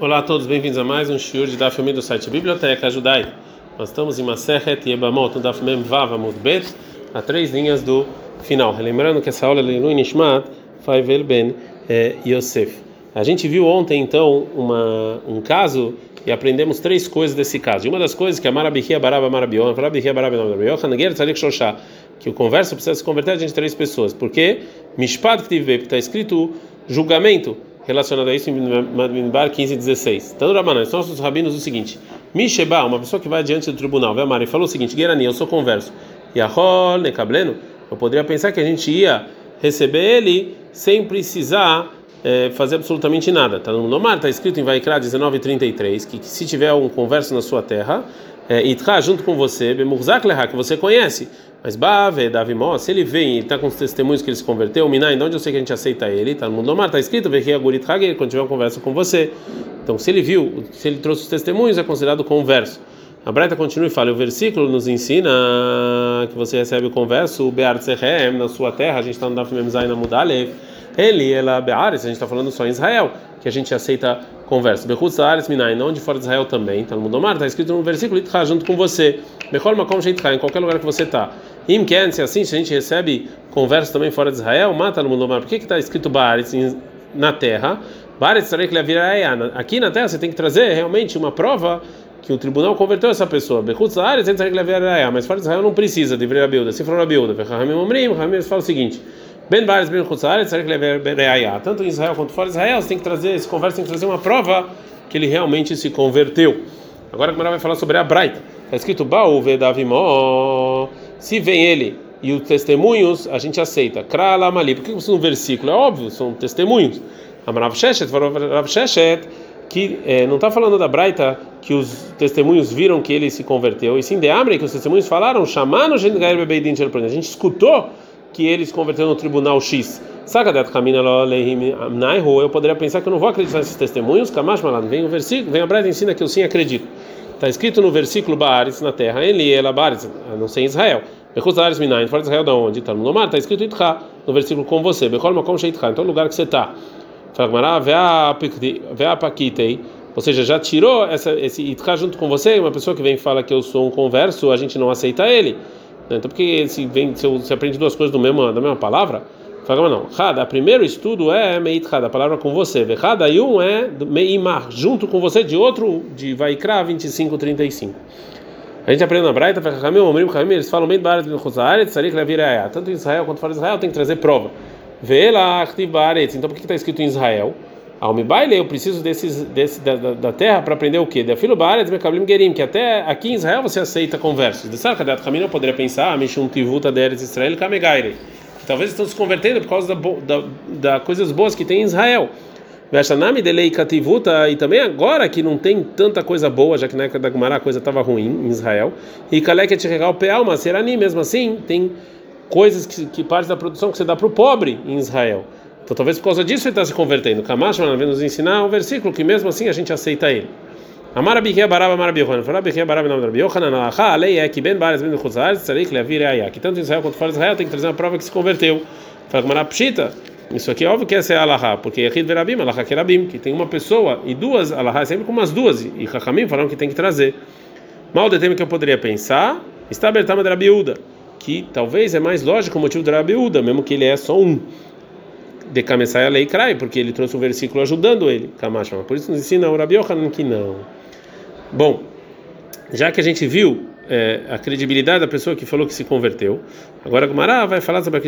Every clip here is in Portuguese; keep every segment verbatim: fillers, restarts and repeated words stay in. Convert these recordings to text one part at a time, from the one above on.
Olá a todos, bem-vindos a mais um shiur de Daf Yomi do site Biblioteca Judaica. Nós estamos em Masechet Yebamot, no Daf Mem Vav Amud Bet, a três linhas do final. Lembrando que essa aula é Leilu Nishmat Faivel Ben eh, Yosef. A gente viu ontem então uma, um caso e aprendemos três coisas desse caso. E uma das coisas que é Marabihia Baraba Marabion, Marabihia Baraba Marabion, Nager Tzarik Shoshá, que o converso precisa se converter de três pessoas. Porque Mishpat Ktivve, está escrito julgamento relacionado a isso em Madminbar quinze, dezesseis. Então, Rabanan, são nossos rabinos o seguinte: Misheba, uma pessoa que vai diante do tribunal, vai amar e falou o seguinte: Gerani, eu sou converso. Yahol Nekableno, eu poderia pensar que a gente ia receber ele sem precisar é, fazer absolutamente nada. Tá no Nomar, está escrito em Vaikra dezenove, trinta e três, que, que se tiver um converso na sua terra, Itra, é, junto com você, Bemurzak Leha, que você conhece. Mas Bave, Davimó, se ele vem e está com os testemunhos que ele se converteu, Minai, de onde eu sei que a gente aceita ele, tá no Mundomar, está escrito, quando tiver uma conversa com você. Então, se ele viu, se ele trouxe os testemunhos, é considerado converso. A Braita continua e fala, o versículo nos ensina que você recebe o converso, o Be'ar Tzehem, na sua terra, a gente está no Daf Mem Zayin Amud Alev, ele, ela, Be'aretz, a gente está falando só em Israel, que a gente aceita conversa. Bechutz Haaretz Minai, não de fora de Israel também, tá no Mundomar, está escrito no versículo, Itcha, junto com você, Bechol Makom Sheitcha, em qualquer lugar que você está. Im Ken, se assim, se a gente recebe conversa também fora de Israel, mata no Mundomar. Por que que está escrito Ba'aretz na terra? Ba'aretz Tzarek Le'avir Ha'ayah. Aqui na terra você tem que trazer realmente uma prova que o tribunal converteu essa pessoa. Bechutz Haaretz Tzarek Le'avir Ha'ayah. Mas fora de Israel não precisa de Ivreira Bilda. Se for a Bilda, Vechamim Omrim, Vechamim fala o seguinte: Ben Ba'aretz Ben Chutz Haaretz Tzarek Le'avir Ha'ayah. Tanto em Israel quanto fora de Israel, você tem que trazer esse conversa, tem que trazer uma prova que ele realmente se converteu. Agora a Gemara vai falar sobre a Braita. Está escrito Baú Vedavimó. Se vem ele e os testemunhos, a gente aceita. Krala Mali. Por que isso no versículo? É óbvio, são testemunhos. Amarav Sheshet, Rav Sheshet, que é, não está falando da Braita que os testemunhos viram que ele se converteu, e sim de Amre, que os testemunhos falaram, chamando a gente a gente escutou que ele se converteu no tribunal X. Eu poderia pensar que eu não vou acreditar nesses testemunhos. Kamash Malan, vem o versículo, vem a Braita e ensina que eu sim acredito. Está escrito no versículo Ba'aretz na terra, ele ela Ba'aretz, não sei em Israel. Bechutz Haaretz Minai, fora de Israel da onde? Está no Nomar, está escrito Itcha, no versículo com você. Bechol Makom Sheitcha, em todo lugar que você está. Fala Ve'a Pakitei, ou seja, já tirou essa, esse Itcha junto com você. Uma pessoa que vem e fala que eu sou um converso, a gente não aceita ele. Então, porque se vem, se você aprende duas coisas do mesmo, da mesma palavra, fala não. Hada, primeiro estudo é Meitchada, a palavra com você. Vechada e um é Meimar, junto com você, de outro, de Vaikra vinte e cinco, trinta e cinco. A gente aprende na Braita, eles falam bem Ba'aretz Ben Chutz Haaretz Tzarek Le'avir Ha'ayah. Tanto em Israel quanto fora de Israel tem que trazer prova. Ve'ela Achtiv Ba'aretz. Então por que está escrito em Israel? Almi Baile, eu preciso desses, desse, da, da, da terra para aprender o quê? Da filo Ba'aretz Mekablim Gerim, que até aqui em Israel você aceita conversos. De Sarkadat Kamina eu poderia pensar, Mishum Tivuta Deretz Israel Kamegaire. Talvez estão se convertendo por causa da, da, da coisas boas que tem em Israel. Veshanami delei kativuta, e também agora que não tem tanta coisa boa, já que na época da Gemara a coisa estava ruim em Israel. E kaleket regal pealma, serani, mesmo assim, tem coisas que, que parte da produção que você dá para o pobre em Israel. Então talvez por causa disso ele está se convertendo. Kamash vai nos ensinar um versículo que mesmo assim a gente aceita ele. Amar Abihia Baraba Marabiyochanan, fala Abihia Baraba não Marabiyochanan, alaha, a lei é que Ben Ba'aretz Ben Chutz Haaretz Tzarek Le'avir Ha'ayah, que tanto em Israel quanto fora de Israel tem que trazer uma prova que se converteu. Fala Gemara Pshita. Isso aqui é óbvio que essa é a Alaha, porque é Yechid Verabim, Alaha Kerabim, que tem uma pessoa e duas Alaha, sempre com umas duas, e Chachamim falaram que tem que trazer. Mal de tema que eu poderia pensar, está Bertama de Rabiúda, que talvez é mais lógico o motivo de Rabiúda, mesmo que ele é só um. De Kamessai a lei Krai, porque ele trouxe um versículo ajudando ele, Kamashma. Por isso nos ensina o Rabi Yochanan que não. Bom, já que a gente viu É, a credibilidade da pessoa que falou que se converteu. Agora a Gemara vai falar sobre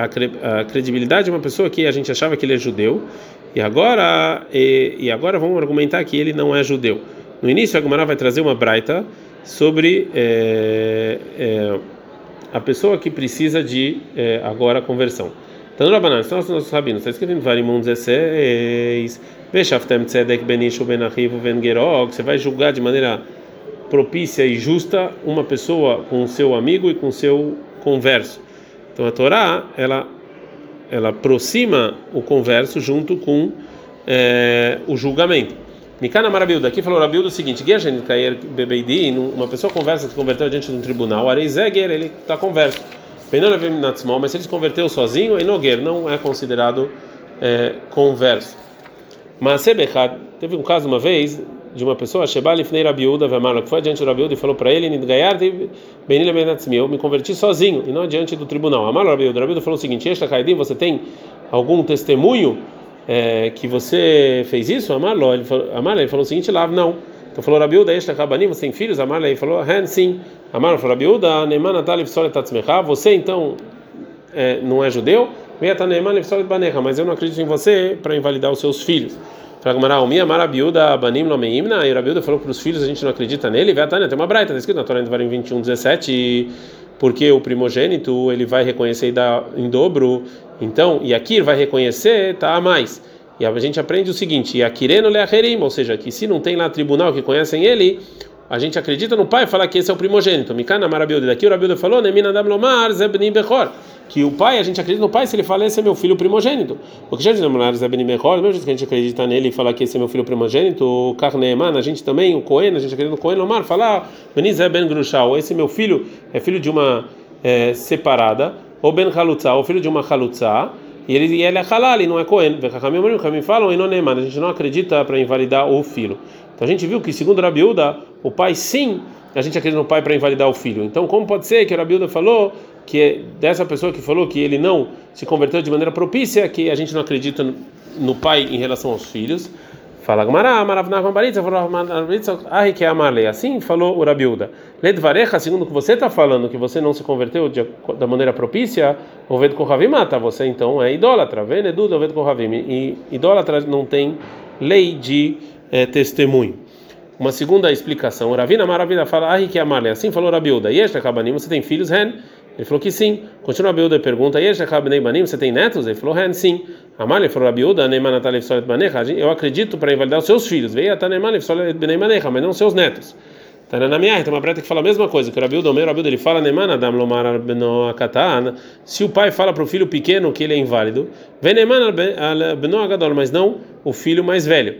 a credibilidade de uma pessoa que a gente achava que ele é judeu, e agora e, e agora vamos argumentar que ele não é judeu. No início a Gemara vai trazer uma braita sobre é, é, a pessoa que precisa de é, agora conversão. Então, Rabanan, são os nossos rabinos. Está escrito em Varimum dezesseis, Veshaftem Tzedek Benishu Ben Achivu Ben Gerog, você vai julgar de maneira propícia e justa uma pessoa com o seu amigo e com o seu converso. Então a Torá ela ela aproxima o converso junto com é, o julgamento. Mikana Marabilda aqui falou Rabilda o seguinte: Gergen Kair Bebeidi, uma pessoa conversa se converteu diante de um tribunal. Areizeger ele está converso. Benonavim Natsmol, mas se ele se converteu sozinho, Enoger não é considerado é, converso. Mas Teve um caso uma vez de uma pessoa, Sheba lifnei Rabi Yehuda ve'amar, que foi adiante do Rabi Yehuda e falou para ele, Nidgayarti benila benatzmi, eu me converti sozinho e não adiante do tribunal. Amar Rabi Yehuda, Rabi Yehuda falou o seguinte: Esta Kaidim, você tem algum testemunho é, que você fez isso? Amar ele falou, Amar ele falou o seguinte: Lav, não. Então falou Rabi Yehuda, Esta Kabanim, você tem filhos? Amar ele falou, Ren, sim. Amar falou Rabi Yehuda, Neman natalif solet atzmecha, você então é, não é judeu? Mas eu não acredito em você para invalidar os seus filhos. E Rabi Yehuda falou para os filhos: a gente não acredita nele. Tem uma braita, está escrito na Torá em Devarim vinte e um, dezessete, porque o primogênito ele vai reconhecer e dar em dobro. Então, e aqui vai reconhecer, tá a mais. E a gente aprende o seguinte: Yakireno leacherim, ou seja, que se não tem lá tribunal que conhecem ele, a gente acredita no pai e fala que esse é o primogênito. Mikana Rabi Yehuda, daqui o Rabi Yehuda falou: Nemina dam lomar zebni bechor, que o pai, a gente acredita no pai se ele fala esse é meu filho primogênito. Porque já dizemos zebni bechor, mesmo que a gente acredita nele e falar que esse é meu filho primogênito, o Karneeman, a gente também, o Cohen, a gente acredita no Cohen lomar, falar Beni zeben grushal, esse meu filho é filho de uma é, separada, ou ben halutza, ou filho de uma halutza, e ele, e ele é halal, e não é Cohen. Vechamim falam e não Neeman, a gente não acredita para invalidar o filho. Então a gente viu que, segundo Rabi Yehuda, o pai sim, a gente acredita no pai para invalidar o filho. Então, como pode ser que o Rabi Yehuda falou que é dessa pessoa que falou que ele não se converteu de maneira propícia, que a gente não acredita no pai em relação aos filhos? Fala Gmará, Maravnachman Baritza, Ahi que Amarle. Assim falou o Rabi Yehuda. Ledvarecha, segundo o que você está falando, que você não se converteu de, da maneira propícia, Oved Kohavim mata, você então é idólatra. Venedud Oved Kohavim. E idólatra não tem lei de É, testemunho. Uma segunda explicação, o Ravina Maravilha fala, ah, que Amarle, assim falou Rabi Yehuda, Yesh Kabanim, você tem filhos, Ren? Ele falou que sim. Continua Rabi Yehuda e pergunta, Yesh Kabanim Banim, você tem netos? Ele falou, Ren, sim. Amarle falou Rabi Yehuda, Neiman Natalef Solet Banecha, eu acredito para invalidar os seus filhos, veio até Neiman Solet Banecha, mas não os seus netos. Tá na minha, tem uma breta que fala a mesma coisa, que o Rabi Yehuda, o meu Rabi Yehuda, ele fala, Neiman Adam Lomar Beno Akatan, se o pai fala para o filho pequeno que ele é inválido, vem Neiman Beno Agadol, mas não o filho mais velho.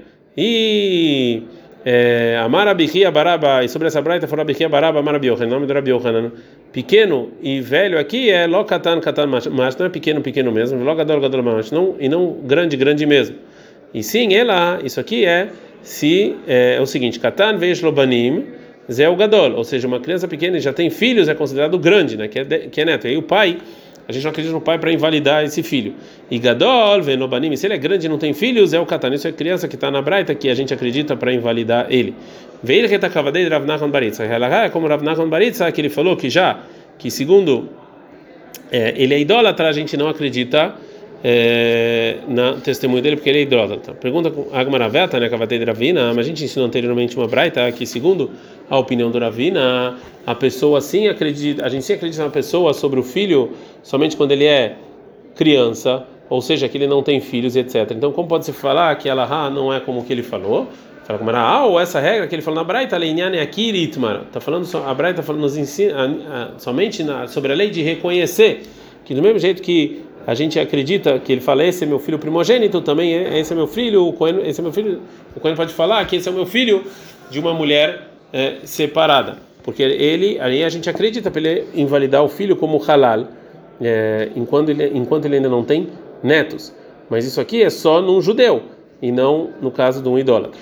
E Amar Abichia Baraba, e sobre essa braita falou Abichia Baraba, Amar Rabi Yochanan, nome do Rabi Yochanan, pequeno e velho aqui é Lo Katan Katan Mash, não é pequeno, pequeno mesmo, Lo Gadol Gadol Mash, não, e não grande, grande mesmo. E sim, ela, isso aqui é, se, é, é o seguinte, Katan Veish Lobanim, Zé o Gadol, ou seja, uma criança pequena e já tem filhos, é considerado grande, né, que é, que é neto. E aí o pai, a gente não acredita no pai para invalidar esse filho. E Gadol, Venobanim, se ele é grande e não tem filhos, é o Katan. Isso é criança que está na braita que a gente acredita para invalidar ele. Veio que está cavadei Rav Nachman Baritza. É como Rav Nachman Baritza, que ele falou que já, que segundo é, ele é idólatra, a gente não acredita é, no testemunho dele porque ele é idólatra. Pergunta Agmaraveta, né, cavadei de Ravina, mas a gente ensinou anteriormente uma braita que segundo a opinião do Ravina, a pessoa sim acredita, a gente sim acredita na pessoa sobre o filho somente quando ele é criança, ou seja, que ele não tem filhos, etcétera. Então, como pode se falar que ela ah, não é como que ele falou? Fala como era, ah, ou essa regra que ele falou na Braita, Leinyan aqui Ritmar. Tá falando a Braita falando nos ensina somente na, sobre a lei de reconhecer que do mesmo jeito que a gente acredita que ele fala esse é meu filho primogênito, também é, esse é meu filho, o Cohen, esse é meu filho, o Cohen pode falar que esse é o meu filho de uma mulher é, separada, porque ele aí a gente acredita para ele invalidar o filho como halal, é, enquanto ele enquanto ele ainda não tem netos. Mas isso aqui é só num judeu e não no caso de um idólatra.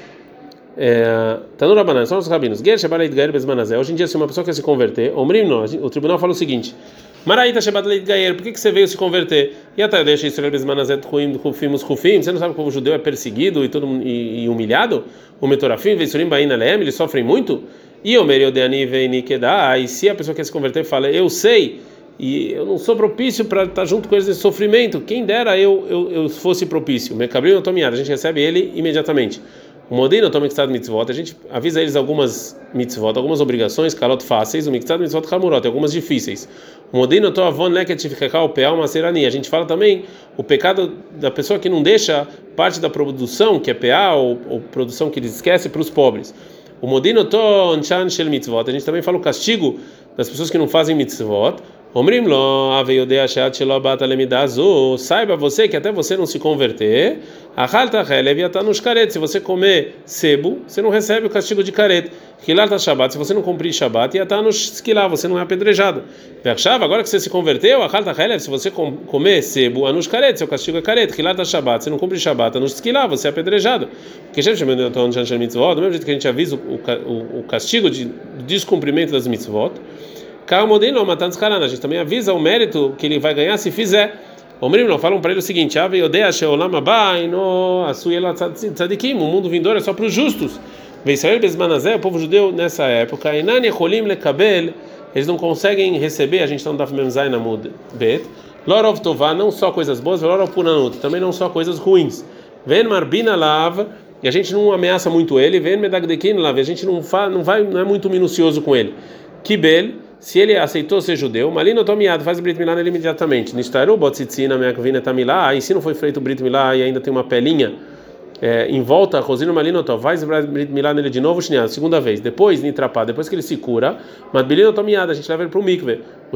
Tá no Rabanan, são os rabinos. Hoje em dia, se uma pessoa quer se converter, o tribunal fala o seguinte: Maraíta Shebat Leit Gayer, por que você veio se converter? E até deixa Israel Bezmanazet Ruim Rufimos Rufim. Você não sabe como o judeu é perseguido e todo e, e humilhado? O Metorafim, Veisurim Baina Leem, eles sofrem muito. E o Meriodeani Veini Kedá. E se a pessoa quer se converter, fala: eu sei, e eu não sou propício para estar junto com eles nesse sofrimento. Quem dera eu eu, eu fosse propício. Mecabrim Otomiada, a gente recebe ele imediatamente. O Modino toma mitzvot mitzvot, a gente avisa eles algumas mitzvot, algumas obrigações, calot fáceis, o mitzvot mitzvot hamurot, algumas difíceis. O Modino to avon leket shifchekha o peal maserani. A gente fala também o pecado da pessoa que não deixa parte da produção, que é peal, ou, ou produção que eles esquecem, para os pobres. O Modino to anchan shel mitzvot. A gente também fala o castigo das pessoas que não fazem mitzvot. Omrim lo aveiodei sheat shelo bata lemidazu. Saiba você que até você não se converter, achalta chelev yata nos karet. Se você comer sebo, você não recebe o castigo de karet. Hilalta Shabbat, se você não cumprir Shabbat, yata nos esquilar, você não é apedrejado. Vershav, agora que você se converteu, achalta chelev, se você comer sebo, anus karet, seu castigo é karet. Hilalta Shabbat, se não cumprir Shabbat, anus esquilar, você é apedrejado. Porque do mesmo jeito que a gente avisa o, o, o castigo de descumprimento das mitzvot, a gente também avisa o mérito que ele vai ganhar se fizer. Omrim não falam para ele o seguinte: o mundo vindouro é só para os justos. O povo judeu nessa época, eles não conseguem receber, a gente está no Daf Mem Zayin Amud Bet, Lorov Tová, não só coisas boas, Lorov Punanut, também não só coisas ruins. Ven Marbina Lav, e a gente não ameaça muito ele. Ven Medagdekin Lav, a gente não, fa, não, vai, não é muito minucioso com ele. Kibel, se ele aceitou ser judeu, Malino Tomiado, faz Brit Milá nele imediatamente. Nishtaru Botzitzina Meakvina Tamilá, e se não foi feito Brit Milá e ainda tem uma pelinha é, em volta, Rosino Malino Tov, faz Brit Milá nele de novo, segunda vez. Depois, Nitrapá, depois que ele se cura, Madbilino Tomiado, a gente leva ele para o mikve. Os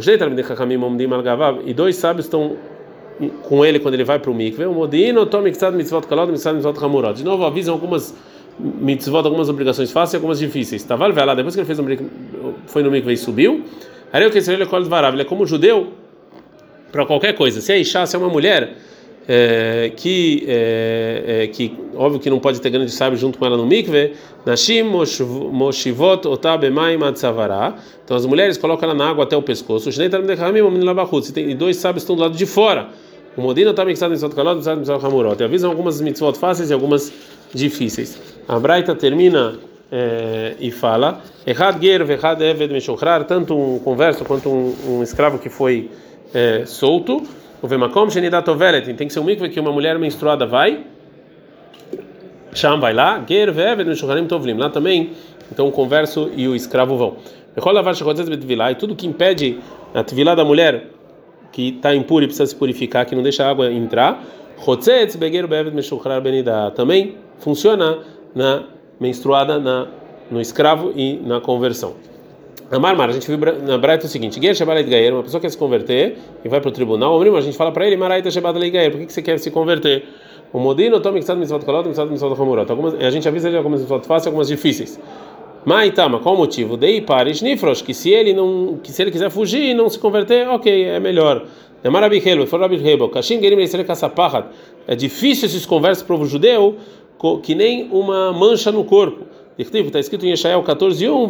e dois sábios estão com ele quando ele vai para o mikve. O Modino Tomikzad Mitzvot Kalod, Mitzvot Mitzvot Hamurot. De novo, avisam algumas mitzvot, algumas obrigações fáceis e algumas difíceis. Taval lá, depois que ele fez um, foi no mikve e subiu, aí eu que ele é como judeu para qualquer coisa. Se é Isha, se é uma mulher é, que é, é, que óbvio que não pode ter grande sábio junto com ela no mikve, Nashim Moshivot Otabemaim Atzavara. Então as mulheres colocam ela na água até o pescoço. E dois sábios estão do lado de fora. O Modino está mixado em Mitzvot Kalot, Mitzvot Mitzvot Hamurot. Avisam algumas mitzvot fáceis e algumas difíceis. A Braita termina é, e fala: Echad ger vechad eved meshochrar, tanto um converso quanto um, um escravo que foi é, solto. O vemakom shenidat ovelet, tem que ser um mikve que uma mulher menstruada vai. Sham vai lá. Ger ve'eved meshochrarim tovlim, lá também. Então o converso e o escravo vão. Echol lavar shechotzet betvilá, e tudo que impede a tvilá da mulher que está impuro e precisa se purificar, que não deixa a água entrar. Chotzet beger be'eved meshochrar benidá, também funciona na menstruada, na, no escravo e na conversão. A Marmar, a gente viu na Braita o seguinte: Ger Shebaleit Gaer, uma pessoa quer se converter e vai para o tribunal, a gente fala para ele: Maraita Shebaleit Gaer, por que você quer se converter? O Modino toma que mitzvot kalot, mitzvot mitzvot hamurot. A gente avisa ele algumas mitzvot fáceis, algumas difíceis. Mas Tama, qual o motivo? Dei parish nifrosh, que se ele não, que se ele quiser fugir e não se converter, ok, é melhor. É difícil esses conversos para o povo judeu, que nem uma mancha no corpo. Está escrito em Yeshayahu quatorze, um,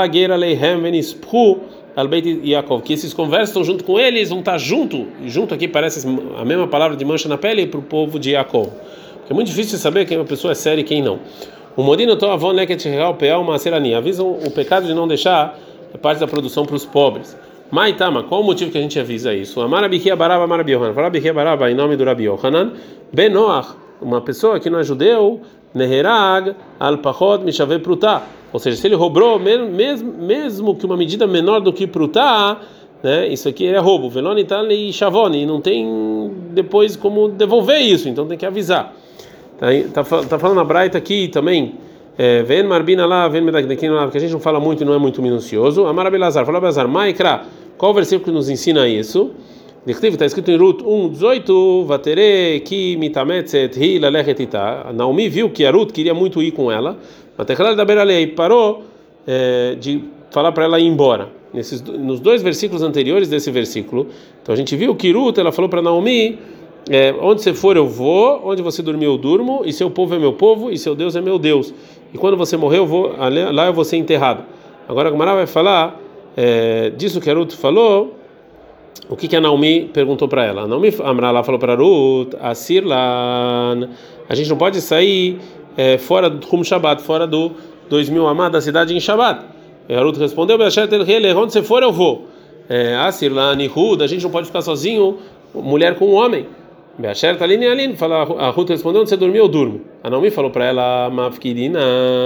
que esses conversos estão junto com eles, vão estar junto, e junto aqui parece a mesma palavra de mancha na pele para o povo de Yaakov. Porque é muito difícil saber quem uma pessoa é séria e quem não. O Modino Toavon Leket Real Peal Maserani avisam o pecado de não deixar parte da produção para os pobres. Maitama, qual o motivo que a gente avisa isso? Amarabichia Baraba Amarabi Yohanan. Farabichia Baraba em nome do Rabi Yohanan. Benoach, uma pessoa que não é judeu, Neherag al Pachod Mishave Prutá. Ou seja, se ele roubou, mesmo, mesmo que uma medida menor do que Prutá, né, isso aqui é roubo. Velonital e Shavoni, e não tem depois como devolver isso, então tem que avisar. Tá, tá, tá falando a Braita aqui também. Vem Marbina lá, vem Medagdekin lá, que a gente não fala muito e não é muito minucioso. Amar Abelazar, fala Abelazar, Maikra, qual o versículo que nos ensina isso? Está escrito em Ruth um, dezoito, Vatere, Ki Mitametzet, Hi, Lalechet Ita. Naomi viu que a Ruth queria muito ir com ela, mas Techlal da Beralei parou é, de falar para ela ir embora. Nesses, nos dois versículos anteriores desse versículo, então a gente viu que Ruth, ela falou para Naomi: é, onde você for eu vou, onde você dormir eu durmo, e seu povo é meu povo, e seu Deus é meu Deus. E quando você morrer, eu vou, lá eu vou ser enterrado. Agora a Gemara vai falar é, disso que a Ruth falou. O que que a Naomi perguntou para ela? A Naomi Amrala falou para Ruth: Asirlan, a gente não pode sair é, fora do Hum Shabbat, fora do dois mil amá da cidade em Shabbat. E a Ruth respondeu: onde você for eu vou. Asirlan e Ruth, a gente não pode ficar sozinho, mulher com um homem. Beasher Talini Alin, fala, a Ruth respondeu: onde você dormiu eu durmo. A Naomi falou para ela: Mafkidina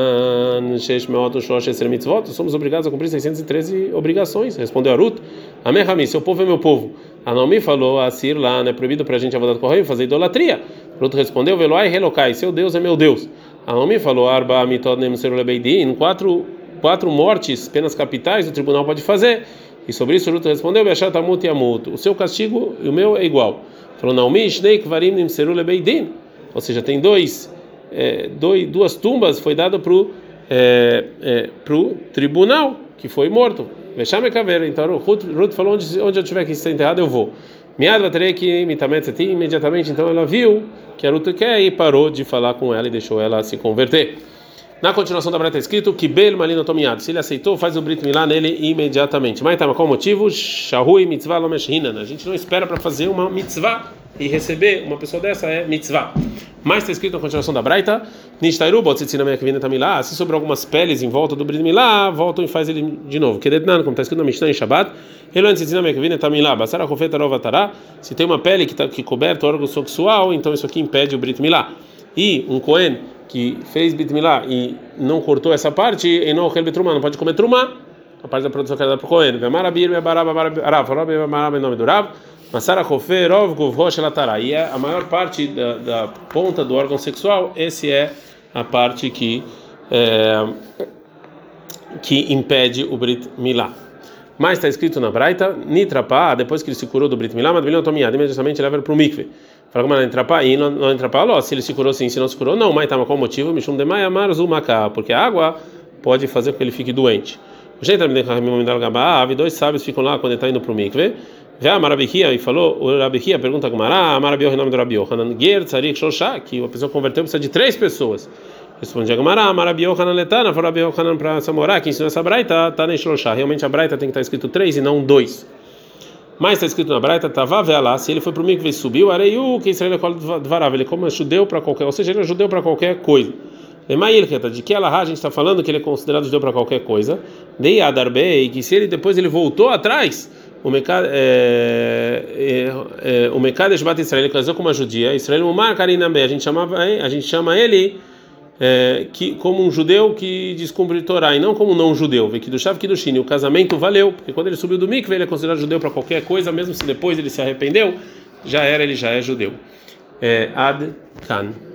Shesh Meot Shosh Esser Mitzvot, somos obrigados a cumprir seiscentas e treze obrigações. Respondeu a Ruth: Amém, Rami, seu povo é meu povo. A Naomi falou: Assir lá, não é proibido para a gente avodat kohanim fazer idolatria. Ruth respondeu: Veloai Relokai, seu Deus é meu Deus. A Naomi falou: Arba Mitod Nem Seru Lebeidin, quatro quatro mortes, penas capitais, o tribunal pode fazer. E sobre isso Ruth respondeu: Be'ashat amut yamut. O seu castigo e o meu é igual. Falou: Naomi shnei kvarim nimseru lebeidin. Ou seja, tem dois, é, dois duas tumbas foi dado para o é, é, pro tribunal que foi morto. Vexame caveira. Então Ruth, Ruth falou: onde, onde eu tiver que ser enterrado eu vou. Miad vaterei que mitametzeti. Imediatamente então ela viu que a Ruth quer e parou de falar com ela e deixou ela se converter. Na continuação da Braita está escrito que Bel Malino Tomiad. Se ele aceitou, faz o Brit Milá nele imediatamente. Mas tá, qual o motivo? Shahui mitzvah lo meshinan. A gente não espera para fazer uma mitzvah e receber uma pessoa dessa é mitzvah. Mas está escrito na continuação da Braita: Nishtairu botzitzina me'akvina tamilá. Se sobrou algumas peles em volta do Brit Milá, voltam e faz ele de novo. Kedetnan, como está escrito na Mishnah em Shabbat. Elontzitzina me'akvina tamilá. Basara kofeta rovatará. Se tem uma pele que está que coberta o órgão sexual, então isso aqui impede o Brit Milá. E um Cohen que fez Brit Milá e não cortou essa parte, e não não pode comer trumá, a parte da produção que era para o Cohen. E é a maior parte da, da ponta do órgão sexual, esse é a parte que é, que impede o Brit Milá. Mas está escrito na Braita: Nitrapá, depois que ele se curou do Brit Milá, Madvilhão Tomiad, imediatamente leva para o mikve. Fala como ela entrapá e não, não entrapá, ó, se ele se curou sim, se não se curou, não, mas tá, mas qual o motivo? Mishum demai amar zumaka, porque a água pode fazer com que ele fique doente. O jeito de dois sábios ficam lá quando ele está indo para o mikve. Vê a Marabihia e falou: o Rabihia pergunta a Gumará, a Marabihia, o nome do Rabihia, Hanan Ger Tzarik Shoshá, que a pessoa converteu precisa de três pessoas. Responde a Gumará, a Marabihia, Hanan Letana, foi o Rabihia, Hanan para Samorá, que ensinou essa Braita, tá nem Shoshá. Realmente a Braita tem que estar escrito três e não dois. Mas está escrito na Braita: Tavá lá, se ele foi para o mikve e subiu, areiu que Israel é dvarav, ele como é judeu para qualquer, ou seja, ele é judeu para qualquer coisa. De que ela a gente está falando que ele é considerado judeu para qualquer coisa. Dei a Darbei, que se ele depois ele voltou atrás, o Mekad é, é, é, o Mekadesh Bat Israel, ele casou com uma judia, Israel Mumar Karinambe, a gente chamava, a gente chama ele é, que como um judeu que descumpre Torá e não como um não judeu. Vê que do Shav que do Shini, o casamento valeu, porque quando ele subiu do mikve ele é considerado judeu para qualquer coisa, mesmo se depois ele se arrependeu, já era, ele já é judeu. É, Ad Kan.